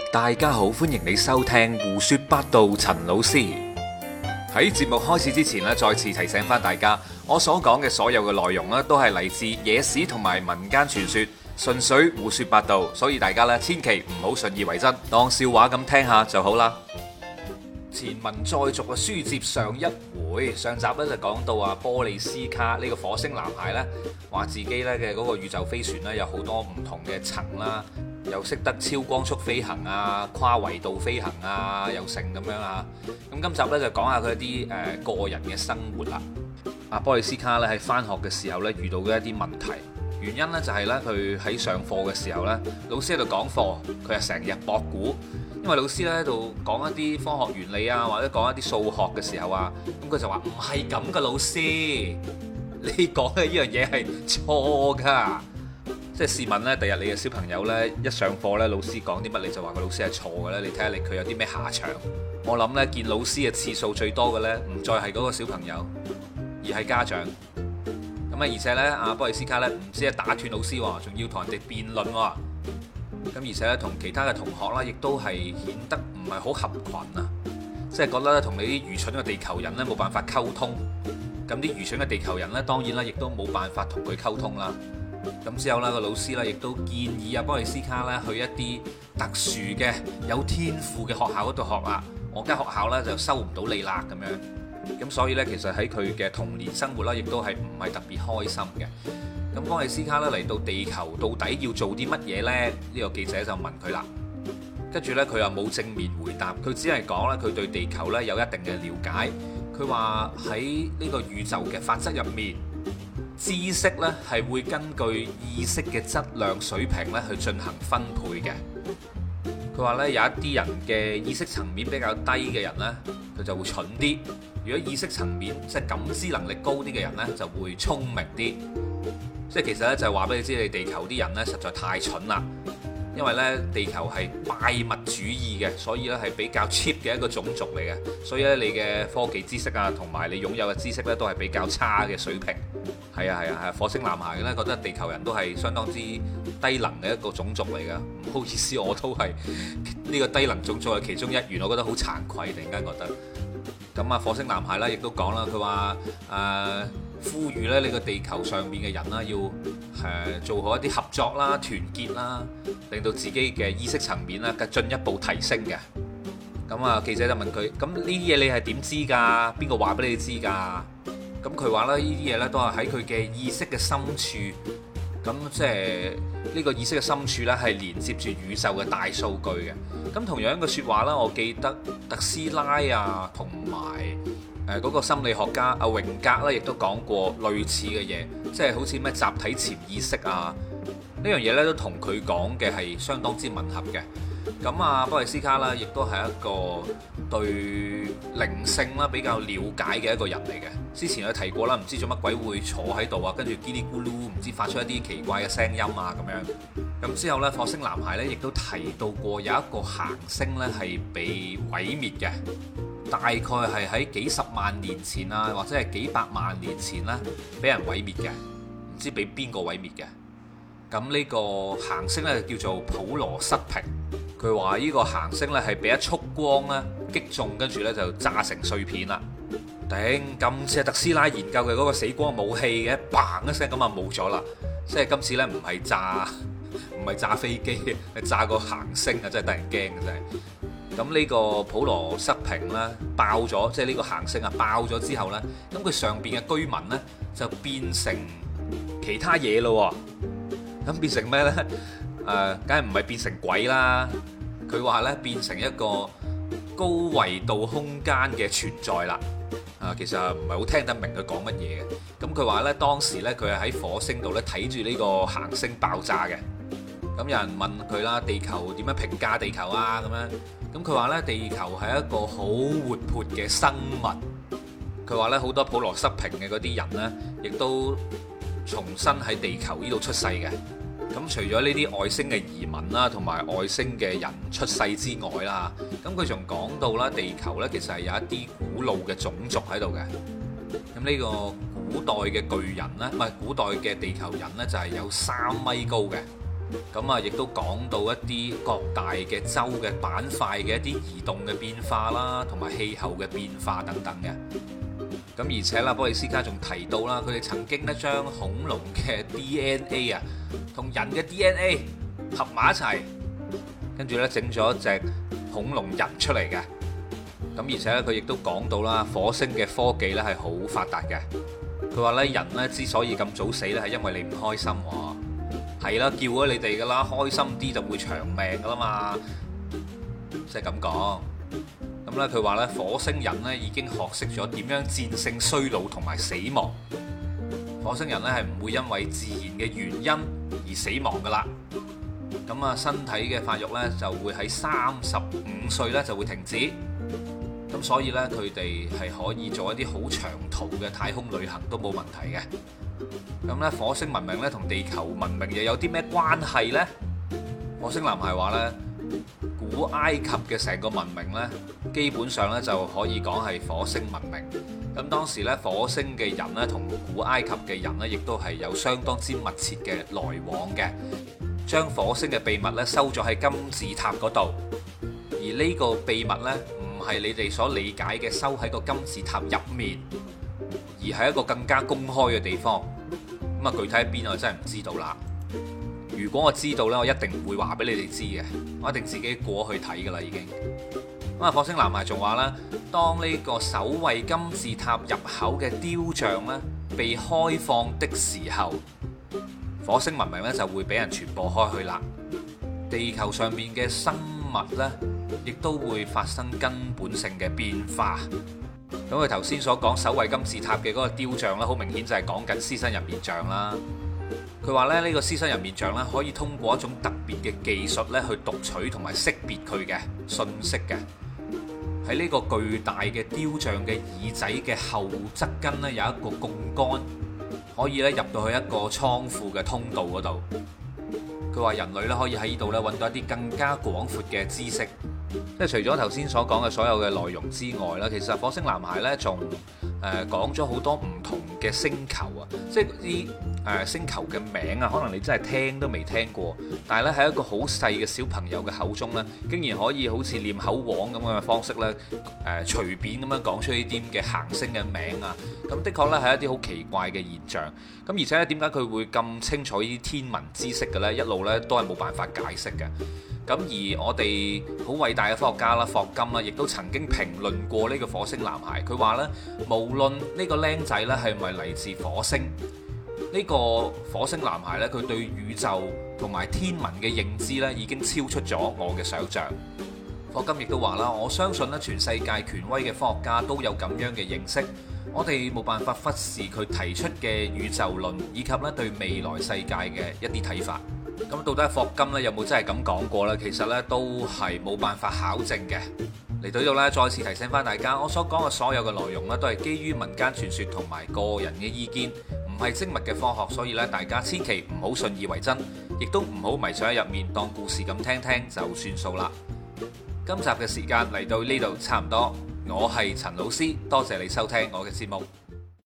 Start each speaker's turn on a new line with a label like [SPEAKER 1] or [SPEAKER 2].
[SPEAKER 1] 大家好，歡迎你收聽胡說八道。陳老師喺節目開始之前咧，再次提醒翻大家，我所講嘅所有嘅內容咧，都係嚟自野史同埋民間傳說，純粹胡說八道，所以大家咧千祈唔好信以為真，當笑話咁聽下就好啦。前文再續嘅書接上一回，上集咧就講到啊，波利斯卡呢個火星男孩呢，話自己咧嘅嗰個宇宙飛船呢，有好多唔同嘅層啦，又識得超光速飛行啊、跨維度飛行啊，又成咁樣啊。咁今集呢，就講下佢一啲個人嘅生活啦。阿波利斯卡咧喺返學嘅時候呢，遇到嘅一啲問題，原因呢，就係呢，佢喺上課嘅時候呢，老師喺度講課，佢係成日駁估。因為老師咧喺度講一啲科學原理啊，或者講一啲數學嘅時候啊，咁佢就話唔係咁嘅，老師，你講嘅呢樣嘢係錯噶。即係試問呢，第日你嘅小朋友呢，一上課呢，老師講啲乜你就話個老師係錯嘅呢？你睇下佢有啲咩下場？我諗呢，見老師嘅次數最多嘅呢，唔再係嗰個小朋友，而係家長。咁啊，而且呢，阿波利斯卡呢，唔止係打斷老師喎，仲要同人哋辯論喎。咁而且咧，同其他嘅同學啦，亦都係顯得唔係好合群啊！即係覺得咧，同你啲愚蠢嘅地球人咧冇辦法溝通。咁啲愚蠢嘅地球人咧，當然啦，亦都冇辦法同佢溝通啦。咁之後呢個老師咧，亦都建議阿波利斯卡咧去一啲特殊嘅有天賦嘅學校嗰度學啦。我間學校咧就收唔到你啦咁樣。咁所以呢，其實喺佢嘅童年生活啦，亦都係唔係特別開心嘅。咁波利斯卡咧嚟到地球到底要做啲乜嘢呢？呢個記者就問佢啦。跟住呢，佢又冇正面回答，佢只係講咧佢對地球呢有一定嘅了解。佢話喺呢個宇宙嘅法則入面，知識呢係會根據意識嘅質量水平咧去進行分配嘅。佢話呢，有一啲人嘅意識層面比較低嘅人呢，佢就會蠢啲；如果意識層面即係感知能力高啲嘅人呢，就會聰明啲。即係其實咧就係話俾你知，你地球啲人咧實在太蠢啦，因為咧地球係拜物主義嘅，所以咧係比較 cheap 嘅一個種族嚟嘅，所以咧你嘅科技知識啊，同埋你擁有嘅知識咧都係比較差嘅水平。係啊，火星男孩咧覺得地球人都係相當之低能嘅一個種族嚟㗎。唔好意思，我都係呢個低能種族嘅其中一員，我覺得好慚愧，突然間覺得。咁啊，火星男孩咧亦都講啦，佢話呼籲咧呢個地球上面嘅人啦，要做好一啲合作啦、團結啦，令到自己嘅意識層面啦，進一步提升嘅。咁啊，記者就問佢：咁呢啲嘢你係點知㗎？邊個話俾你知㗎？咁佢話咧，呢啲嘢咧都係喺佢嘅意識嘅深處。咁即係呢個意識嘅深處呢，係連接住宇宙嘅大數據嘅。咁同樣嘅説話啦，我記得特斯拉啊，同埋嗰個心理學家阿榮格咧，亦都講過類似嘅嘢，即係好似咩集體潛意識啊，呢樣嘢呢，都同佢講嘅係相當之吻合嘅。咁啊，波利斯卡啦，亦都係一個對靈性啦比較了解嘅一個人嚟嘅。之前有提過啦，唔知做乜鬼會坐喺度啊，跟住嘰哩咕嚕，唔知發出一啲奇怪嘅聲音啊咁樣。咁之後呢，火星男孩呢亦都提到過有一個行星呢係被毀滅嘅，大概係喺幾十萬年前啊，或者係幾百萬年前啦，俾人毀滅嘅，唔知俾邊個毀滅嘅。咁呢個行星呢，叫做普羅塞平。佢話呢個行星呢係俾一束光呢擊中，跟住呢就炸成碎片啦。頂，今次係特斯拉研究嘅嗰個死光武器嘅，嘭一聲咁啊冇咗啦。即係今次呢唔係炸飛機，係炸個行星啊！真係得人驚嘅真係。咁呢個普羅塞平呢爆咗，即係呢個行星啊爆咗之後呢，咁佢上邊嘅居民呢就變成其他嘢咯。咁變成咩呢？梗係唔係變成鬼啦？佢話呢變成一個高維度空間嘅存在啦。其實唔係好聽得明佢講乜嘢嘅。咁佢話呢，當時呢，佢係喺火星度呢睇住呢個行星爆炸嘅。咁有人問佢啦，地球點樣評價地球啊？咁樣，咁佢話呢，地球係一個好活潑嘅生物。佢話呢，好多普羅塞平嘅嗰啲人呢，亦都重新喺地球呢度出世嘅。咁除咗呢啲外星嘅移民啦，同埋外星嘅人出世之外啦，咁佢仲講到啦，地球呢其實係有一啲古老嘅種族喺度嘅。咁呢個古代嘅巨人呢，唔係古代嘅地球人呢，就係有3米高嘅。 咁啊，亦都講到一啲各大嘅州嘅板塊嘅一啲移動嘅變化啦，同埋氣候嘅變化等等嘅。咁而且啦，波利斯卡仲提到啦，佢哋曾經咧將恐龍嘅 DNA 啊，同人嘅 DNA 合埋一齊，跟住咧整咗一隻恐龍人出嚟嘅。咁而且咧，佢亦都講到啦，火星嘅科技咧係好發達嘅。佢話咧，人咧之所以咁早死咧，係因為你唔開心喎。係啦，叫咗你哋噶啦，開心啲就會長命噶啦嘛，即係咁講。咁咧，佢話咧，火星人咧已經學識咗點樣戰勝衰老同埋死亡。火星人咧係唔會因為自然嘅原因而死亡噶啦。咁啊，身體嘅發育咧就會喺35歲咧就會停止。咁所以咧，佢哋係可以做一啲好長途嘅太空旅行都冇問題嘅。咁咧，火星文明咧同地球文明又有啲咩關係呢？火星男孩話咧，古埃及嘅成個文明咧，基本上咧就可以講係火星文明。咁當時咧，火星嘅人咧同古埃及嘅人咧，亦都係有相當之密切嘅來往嘅。將火星嘅秘密咧收咗喺金字塔嗰度，而呢個秘密咧唔係你哋所理解嘅收喺個金字塔入面，而係一個更加公開嘅地方。咁啊，具體喺邊我真係唔知道啦。如果我知道呢，我一定唔會話俾你哋知嘅，我一定自己過去睇噶啦已經。咁啊，火星男孩仲話啦，當呢個守衛金字塔入口嘅雕像呢被開放的時候，火星文明呢就會俾人傳播開去啦。地球上面嘅生物呢，亦都會發生根本性嘅變化。咁佢頭先所講守衛金字塔嘅嗰個雕像咧，好明顯就係講緊獅身人面像啦。佢話咧，呢個獅身人面像咧，可以通過一種特別嘅技術咧，去讀取同埋識別佢嘅信息嘅。喺呢個巨大嘅雕像嘅耳仔嘅後側跟咧，有一個槓桿，可以咧入到去一個倉庫嘅通道嗰度。佢話人類咧可以喺呢度咧揾到一啲更加廣闊嘅知識。即係除咗頭先所講嘅所有嘅內容之外啦，其實火星男孩呢仲講咗好多唔同嘅星球啊，即係啲星球嘅名啊，可能你真係聽都未聽過，但係呢喺一個好細嘅小朋友嘅口中呢，竟然可以好似念口簧咁樣嘅方式呢，隨便咁樣講出呢啲嘅行星嘅名啊，咁的確呢係一啲好奇怪嘅現象。咁而且呢，點解佢會咁清楚呢啲天文知識嘅呢？一路呢都係冇辦法解釋嘅。咁而我哋好偉大嘅科學家啦，霍金啦，亦都曾經評論過呢個火星男孩。佢話呢，無論呢個僆仔呢係咪嚟自火星，呢個火星男孩呢，佢對宇宙同埋天文嘅認知呢已經超出咗我嘅想像。霍金亦都話啦，我相信呢全世界權威嘅科學家都有咁樣嘅認識，我哋冇辦法忽視佢提出嘅宇宙論，以及呢對未來世界嘅一啲睇法。咁到底霍金咧有冇真係咁講過呢？其實呢都係冇辦法考證嘅。嚟到呢度呢，再次提醒翻大家，我所講嘅所有嘅內容呢，都係基於民間傳說同埋個人嘅意見，唔係精密嘅科學，所以呢，大家千祈唔好信以為真，亦都唔好迷上喺入面當故事咁聽聽就算數啦。今集嘅時間嚟到呢度差唔多，我係陳老師，多謝你收聽我嘅節目。